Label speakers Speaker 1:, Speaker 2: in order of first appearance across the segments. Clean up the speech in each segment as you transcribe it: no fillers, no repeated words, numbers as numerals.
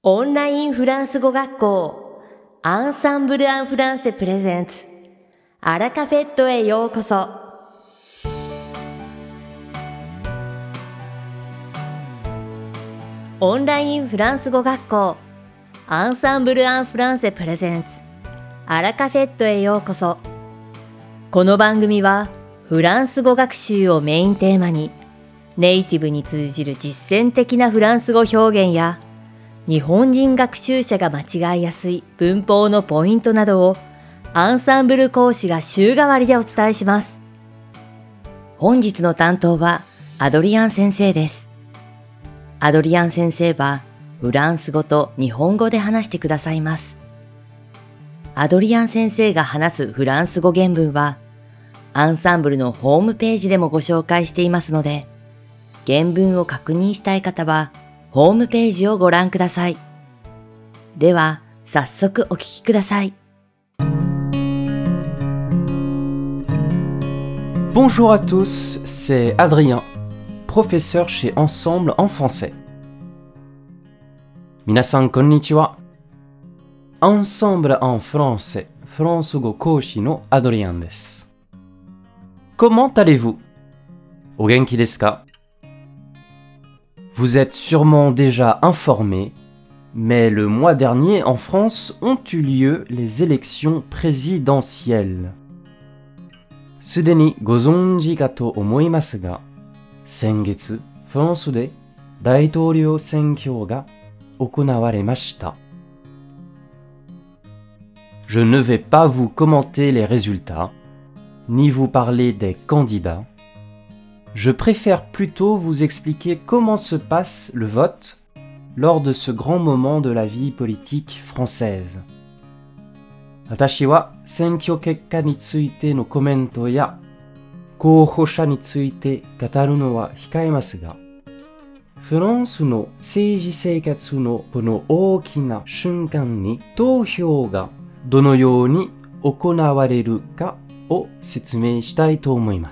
Speaker 1: オンラインフランス語学校アンサンブル・アン・フランセプレゼンツアラカフェットへようこそ。オンラインフランス語学校アンサンブル・アン・フランセプレゼンツアラカフェットへようこそ。この番組はフランス語学習をメインテーマにネイティブに通じる実践的なフランス語表現や日本人学習者が間違いやすい文法のポイントなどをアンサンブル講師が週替わりでお伝えします。本日の担当はアドリアン先生です。アドリアン先生はフランス語と日本語で話してくださいます。アドリアン先生が話すフランス語原文はアンサンブルのホームページでもご紹介していますので、原文を確認したい方はホームページをご覧ください。では、早速お聞きください。
Speaker 2: Bonjour à tous, c'est Adrien, professeur chez Ensemble en français. 皆さんこんにちは。Ensemble en français, フランス語講師のアドリアンです。Comment allez-vous? お元気ですか? Vous êtes sûrement déjà informés, mais le mois dernier en France ont eu lieu les élections présidentielles. すでにご存知かと思いますが、先月フランスで大統領選挙が行われました。Je ne vais pas vous commenter les résultats, ni vous parler des candidats.Je préfère plutôt vous expliquer comment se passe le vote lors de ce grand moment de la vie politique française. 私は選挙結果についてのコメントや候補者について語るのは控えますが、フランスの政治生活のこの大きな瞬間に投票がどのように行われるかを説明したいと思います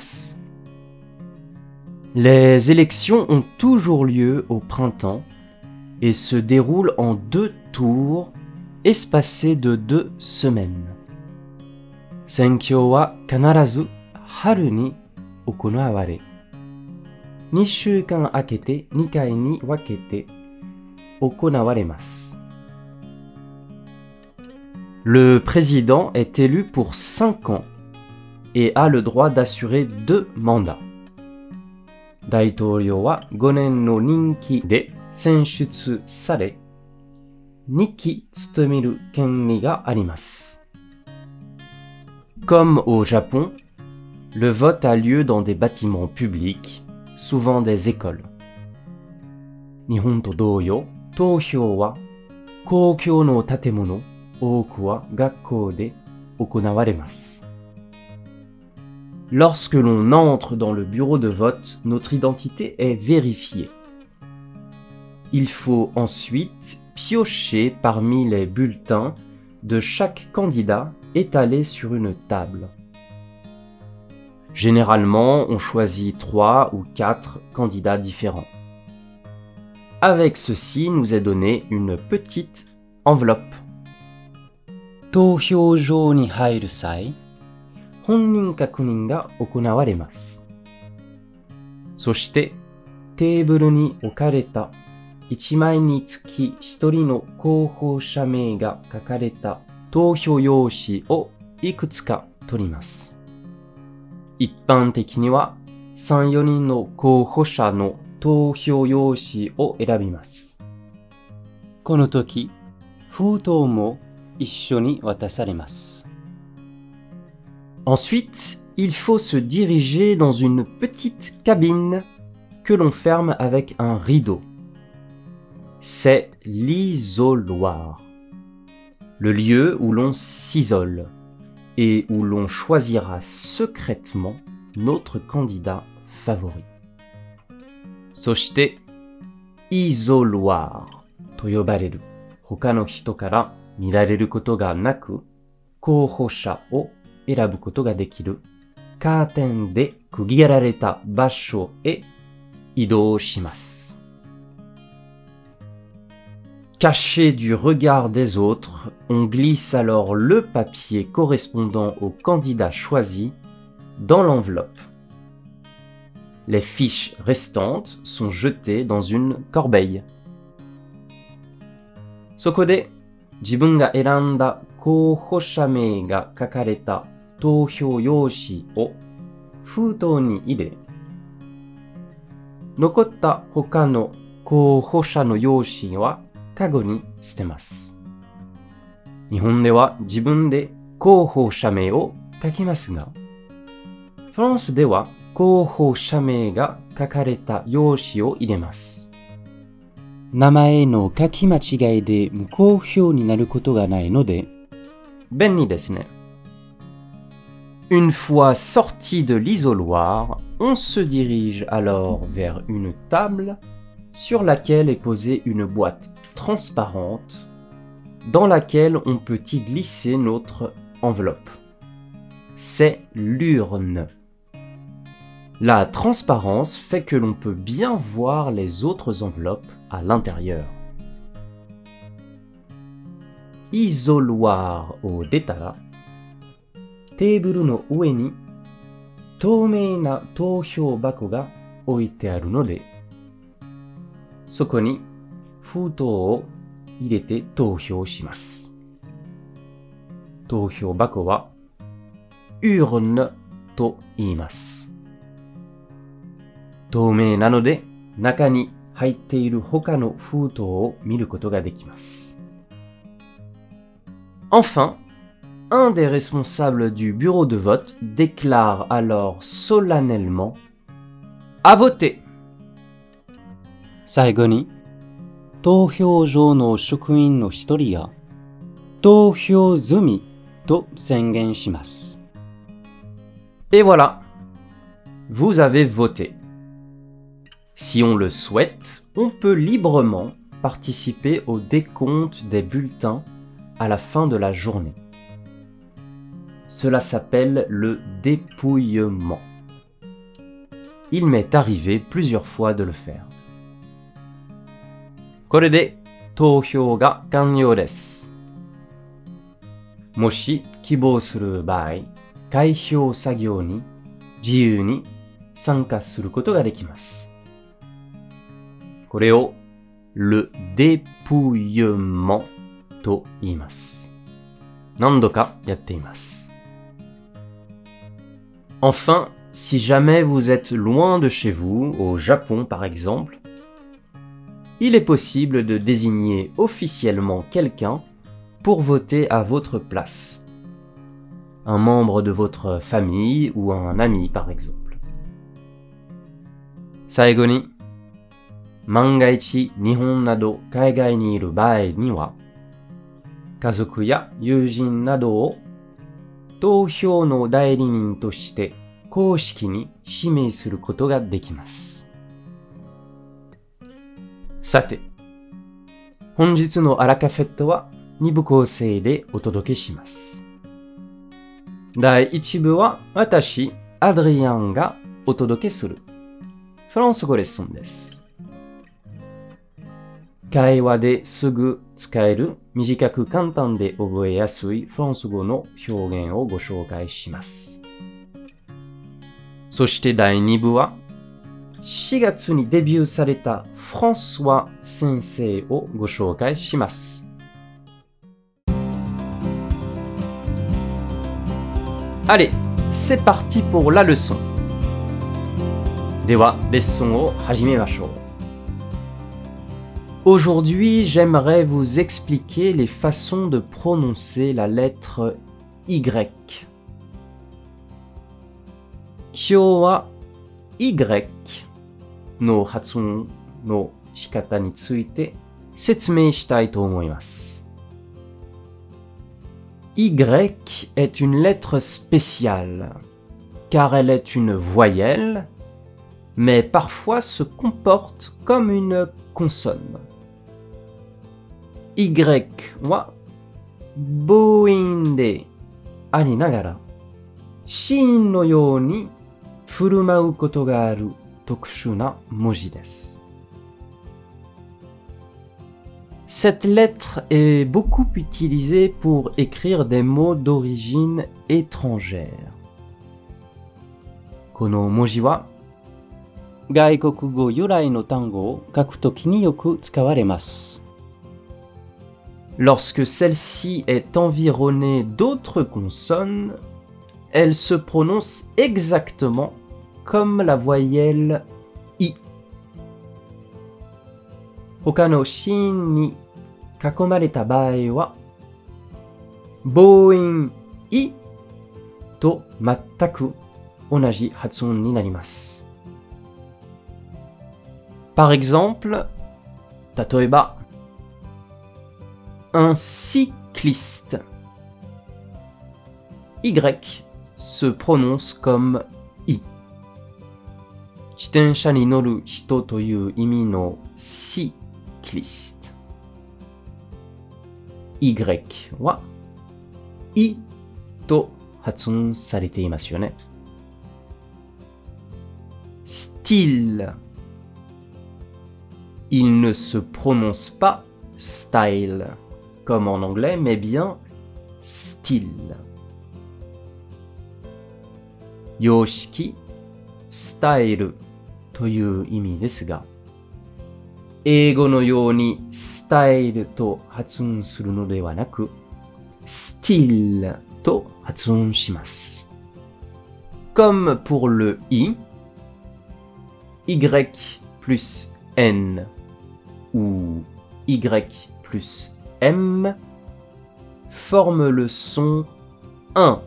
Speaker 2: 。Les élections ont toujours lieu au printemps et se déroulent en 2 tours espacés de 2 semaines. 選挙は必ず春に行われ、2週間空けて2回に分けて行われます。Le président est élu pour 5 ans et a le droit d'assurer 2 mandats.大統領は5年の任期で選出され、2期務める権利があります。Comme au Japon, le vote a lieu dans des bâtiments publics, souvent des écoles. 日本と同様、投票は公共の建物、多くは学校で行われます。Lorsque l'on entre dans le bureau de vote, notre identité est vérifiée. Il faut ensuite piocher parmi les bulletins de chaque candidat étalés sur une table. Généralement, on choisit 3 ou 4 candidats différents. Avec ceci, nous est donné une petite enveloppe. 投票所に入る際、本人確認が行われます。そして、テーブルに置かれた1枚につき1人の候補者名が書かれた投票用紙をいくつか取ります。一般的には3、4人の候補者の投票用紙を選びます。この時、封筒も一緒に渡されます。Ensuite, il faut se diriger dans une petite cabine que l'on ferme avec un rideau. C'est l'isoloir, le lieu où l'on s'isole et où l'on choisira secrètement notre candidat favori. そして、isoloir と呼ばれる他の人から見られることがなく、候補者を選ぶことができるカーテンで区切られた場所へ移動します。 Caché du regard des autres, on glisse alors le papier correspondant au candidat choisi dans l'enveloppe. Les fiches restantes sont jetées dans une corbeille. そこで自分が選んだ候補者名が書かれた投票用紙を封筒に入れ、残った他の候補者の用紙はカゴに捨てます。日本では自分で候補者名を書きますが、フランスでは候補者名が書かれた用紙を入れます。名前の書き間違いで無効票になることがないので、便利ですね。Une fois sorti de l'isoloir, on se dirige alors vers une table sur laquelle est posée une boîte transparente dans laquelle on peut y glisser notre enveloppe. C'est l'urne. La transparence fait que l'on peut bien voir les autres enveloppes à l'intérieur. Isoloir を出たら、テーブルの上に透明な投票箱が置いてあるので、そこに封筒を入れて投票します。投票箱はurneと言います。透明なので中に入っている他の封筒を見ることができます。Enfin, un des responsables du bureau de vote déclare alors solennellement à voter. 最後に、投票所の職員の一人が投票済みと宣言します。Et voilà, vous avez voté. Si on le souhaite, on peut librement participer au décompte des bulletins à la fin de la journée. Cela s'appelle le dépouillement. Il m'est arrivé plusieurs fois de le faire. これで投票が完了です。もし希望する場合、開票作業に自由に参加することができます。これを le dépouillement と言います。何度かやっています。Enfin, si jamais vous êtes loin de chez vous, au Japon par exemple, il est possible de désigner officiellement quelqu'un pour voter à votre place. Un membre de votre famille ou un ami par exemple. 最後に、万が一日本など海外にいる場合には、家族や友人などを投票の代理人として公式に指名することができます。さて、本日のアラカフェットは2部構成でお届けします。第1部は私、アドリアンがお届けするフランス語レッスンです。会話ですぐ使える短く簡単で覚えやすいフランス語の表現をご紹介します。そして第2部は4月にデビューされたフランソワ先生をご紹介します。Allez, c'est parti pour la leçon. では、レッスンを始めましょう。Aujourd'hui, j'aimerais vous expliquer les façons de prononcer la lettre Y. 今日は Y の発音の仕方について説明したいと思います。Y est une lettre spéciale, car elle est une voyelle, mais parfois se comporte comme une consonne. Y は母音でありながら、子音のように振る舞うことがある特殊な文字です。 Cette lettre est beaucoup utilisée pour écrire des mots d'origine étrangère. この文字は外国語由来の単語を書くときによく使われます。Lorsque celle-ci est environnée d'autres consonnes, elle se prononce exactement comme la voyelle I. 他の子音に囲まれた場合は、母音Iと全く同じ発音になります。Par exemple, 例えば、un cycliste. Y se prononce comme I. 自転車に乗る人という意味の cycliste. Y は I と発音されていますよね。Style. Il ne se prononce pas style, comme en anglais, mais bien style. Yoshiki, style という意味ですが、英語のように style と発音するのではなく、style と発音します。Comme pour le i, y plus n ou y plus m forment le son 1,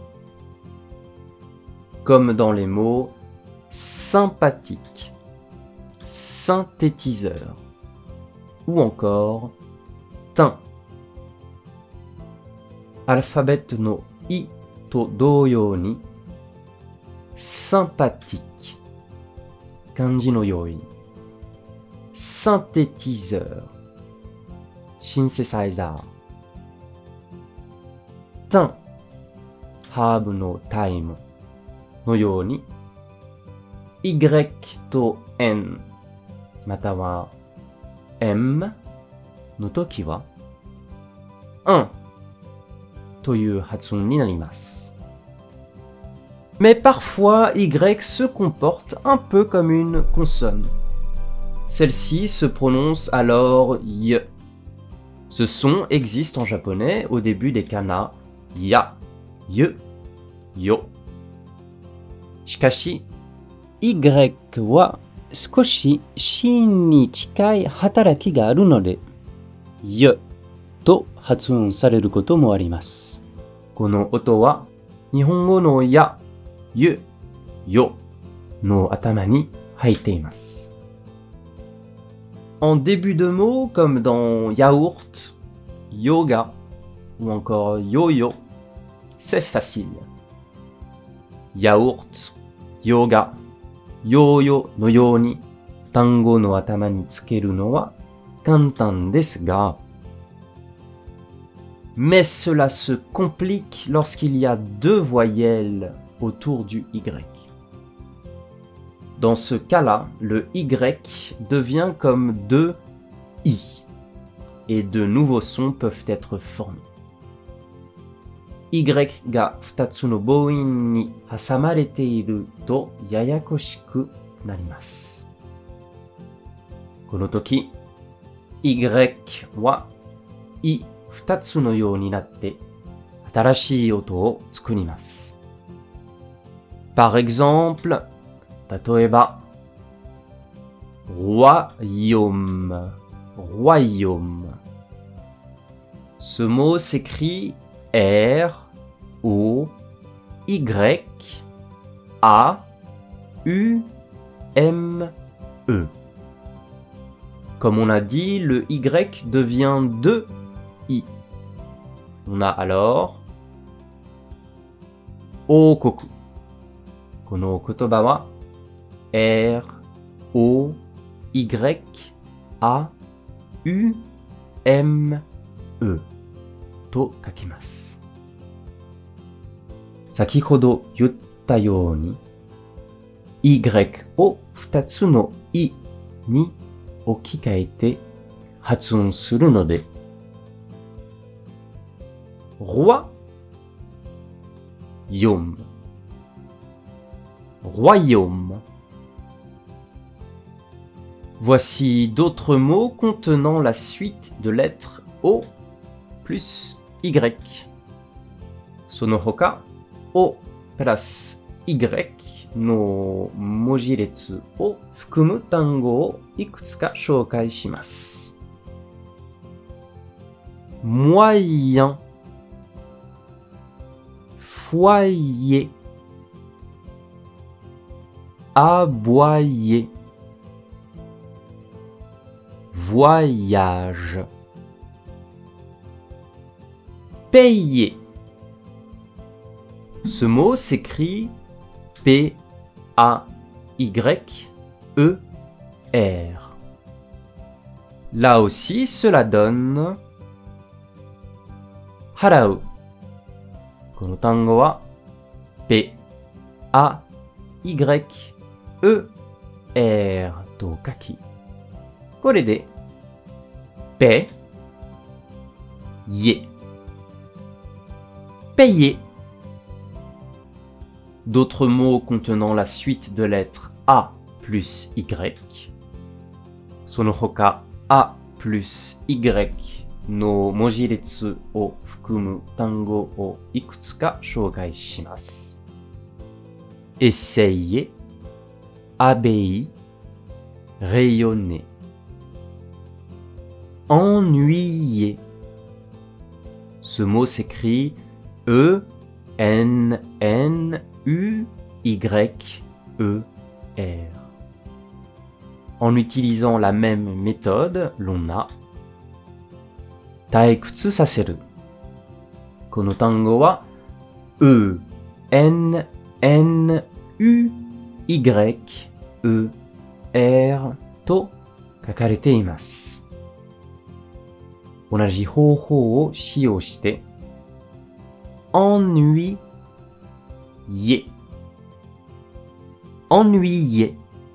Speaker 2: comme dans les mots sympathique, synthétiseur ou encore teint. Alphabet no i to doyo ni sympathique, kanji no yoi, synthétiseur, synthesizer, teint, herb no time のように y と n または m の時は un という発音になります。Mais parfois y se comporte un peu comme une consonne. Celle-ci se prononce alors y. Ce son existe en japonais au début des kana ya, y, yo. しかし、y は少し子音に近い働きがあるので、y と発音されることもあります。この音は日本語のや、ゆ、よの頭に入っています。En début de mots comme dans yaourt, yoga ou encore yo-yo, c'est facile. Yaourt, yoga, yo-yo のように単語の頭につけるのは簡単ですが、mais cela se complique lorsqu'il y a deux voyelles autour du y. Dans ce cas-là, le y devient comme deux i et de nouveaux sons peuvent être formés. y が2つの母音に挟まれているとややこしくなります。この時、y は い2つのようになって新しい音を作ります。Par exemple, 例えば royaume, royaume. Ce mot s'écrit R, O, Y, A, U, M, E. Comme on a dit, le Y devient deux I. On a alors Okoku. この言葉は R, O, Y, A, U, M, E と書きます。先ほど言ったように Y を2つのいに置き換えて発音するので roi, yome, royaume. Voici d'autres mots contenant la suite de lettres O plus Y. その他、O プラス Y の文字列を含む単語をいくつか紹介します。moyen, foyer, aboyer, voyage, payer. Ce mot s'écrit P-A-Y-E-R. Là aussi, cela donne 払う。この単語は P-A-Y-E-R と書き、これで payer, payer. D'autres mots contenant la suite de lettres A plus Y. その他 A plus Y の文字列を含む単語をいくつか紹介します。essayer, abbaye, rayonner, ennuyer. Ce mot s'écrit E-N-N-U-Y-E-R. En utilisant la même méthode, l'on a 退屈させる。この単語は E-N-N-U-Y-E-R と書かれています。同じ方法を使用して ennuyer, ennuyer.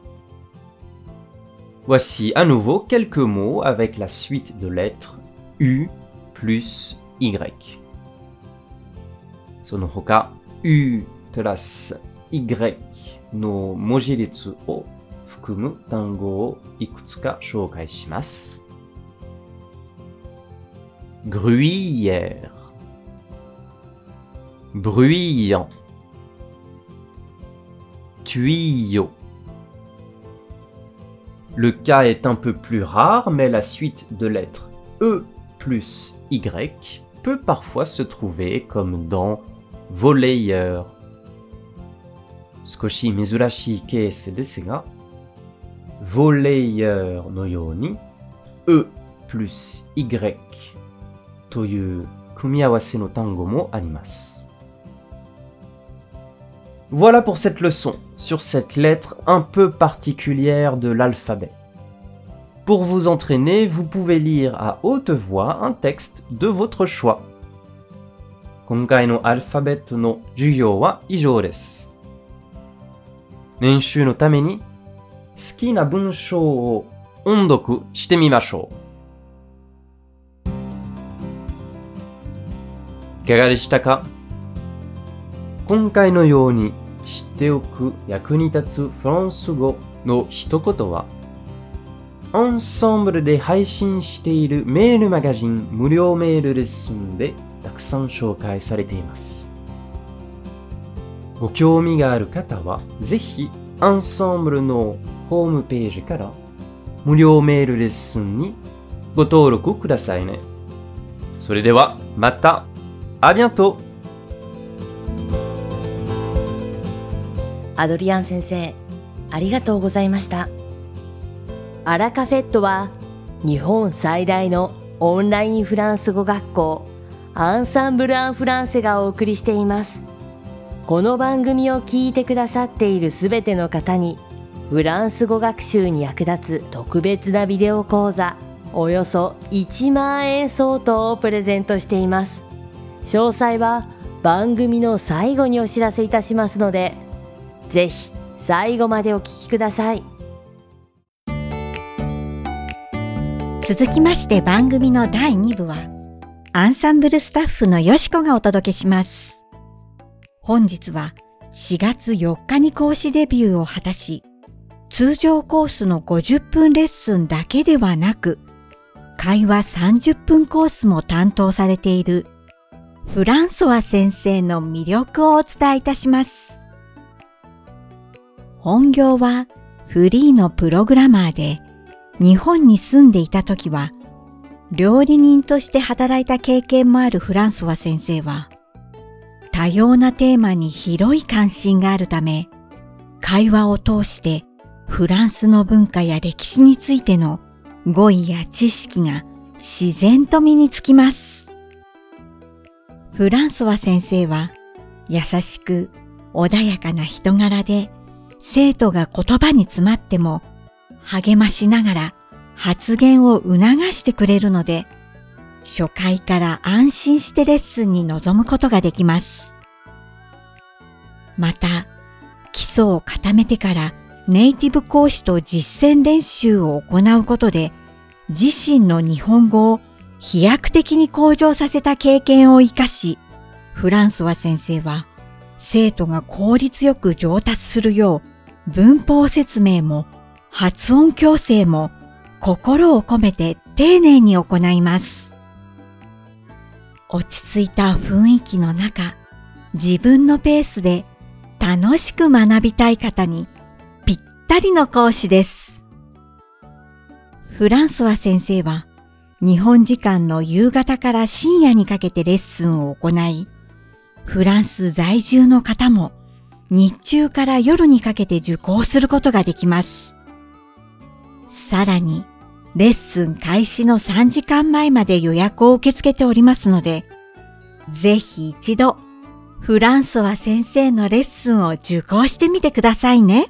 Speaker 2: Voici à nouveau quelques mots avec la suite de lettres U plus Y. その他 U プラス Y の文字列を含む単語をいくつか紹介します。gruyère, bruyant, tuyau. Le cas est un peu plus rare, mais la suite de lettres E plus Y peut parfois se trouver comme dans volleyeur. 少し珍しいケースですが、volleyeur のように E plus Y という組み合わせの単語もあります。Voilà pour cette leçon sur cette lettre un peu particulière de l'alphabet. Pour vous entraîner, vous pouvez lire à haute voix un texte de votre choix. 今回のアルファベットの授業は以上です。練習のために好きな文章を音読してみましょう。いかがでしたか？今回のように知っておく役に立つフランス語の一言は、アンサンブルで配信しているメールマガジン無料メールレッスンでたくさん紹介されています。ご興味がある方は、ぜひアンサンブルのホームページから無料メールレッスンにご登録くださいね。それではまた。À bientôt!
Speaker 1: アドリアン先生、ありがとうございました。アラカフェットは日本最大のオンラインフランス語学校アンサンブル・アン・フランセがお送りしています。この番組を聞いてくださっているすべての方にフランス語学習に役立つ特別なビデオ講座およそ1万円相当をプレゼントしています。詳細は番組の最後にお知らせいたしますので、ぜひ最後までお聞きください。
Speaker 3: 続きまして番組の第2部は、 アンサンブルスタッフのよしこがお届けします。本日は4月4日に講師デビューを果たし、通常コースの50分レッスンだけではなく、会話30分コースも担当されているフランソワ先生の魅力をお伝えいたします。本業はフリーのプログラマーで、日本に住んでいた時は、料理人として働いた経験もあるフランソワ先生は、多様なテーマに広い関心があるため、会話を通してフランスの文化や歴史についての語彙や知識が自然と身につきます。フランソワ先生は優しく穏やかな人柄で、生徒が言葉に詰まっても励ましながら発言を促してくれるので、初回から安心してレッスンに臨むことができます。また、基礎を固めてからネイティブ講師と実践練習を行うことで、自身の日本語を飛躍的に向上させた経験を生かし、フランソワ先生は生徒が効率よく上達するよう、文法説明も発音矯正も心を込めて丁寧に行います。落ち着いた雰囲気の中、自分のペースで楽しく学びたい方にぴったりの講師です。フランソワ先生は日本時間の夕方から深夜にかけてレッスンを行い、フランス在住の方も日中から夜にかけて受講することができます。さらに、レッスン開始の3時間前まで予約を受け付けておりますので、ぜひ一度、フランソワ先生のレッスンを受講してみてくださいね。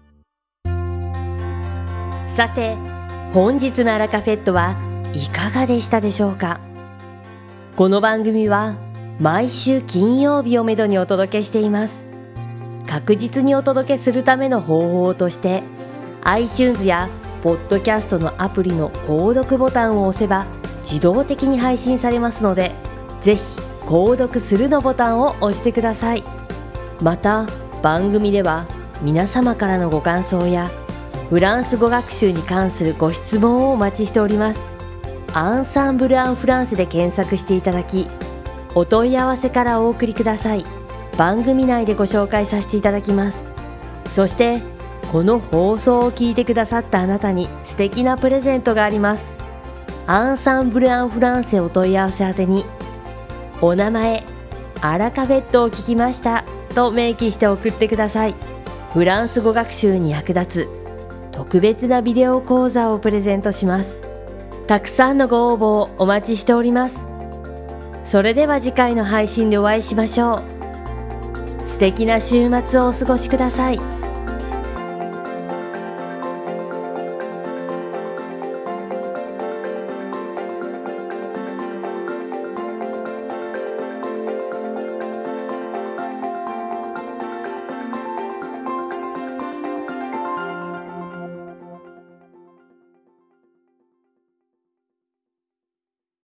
Speaker 1: さて、本日のアラカフェットはいかがでしたでしょうか。この番組は毎週金曜日をめどにお届けしています。確実にお届けするための方法として iTunes やポッドキャストのアプリの購読ボタンを押せば自動的に配信されますので、ぜひ購読するのボタンを押してください。また番組では皆様からのご感想やフランス語学習に関するご質問をお待ちしております。アンサンブル・アン・フランセで検索していただき、お問い合わせからお送りください。番組内でご紹介させていただきます。そしてこの放送を聞いてくださったあなたに素敵なプレゼントがあります。アンサンブル・アン・フランセお問い合わせ宛てに、お名前、アラカフェットを聞きましたと明記して送ってください。フランス語学習に役立つ特別なビデオ講座をプレゼントします。たくさんのご応募をお待ちしております。それでは次回の配信でお会いしましょう。素敵な週末をお過ごしください。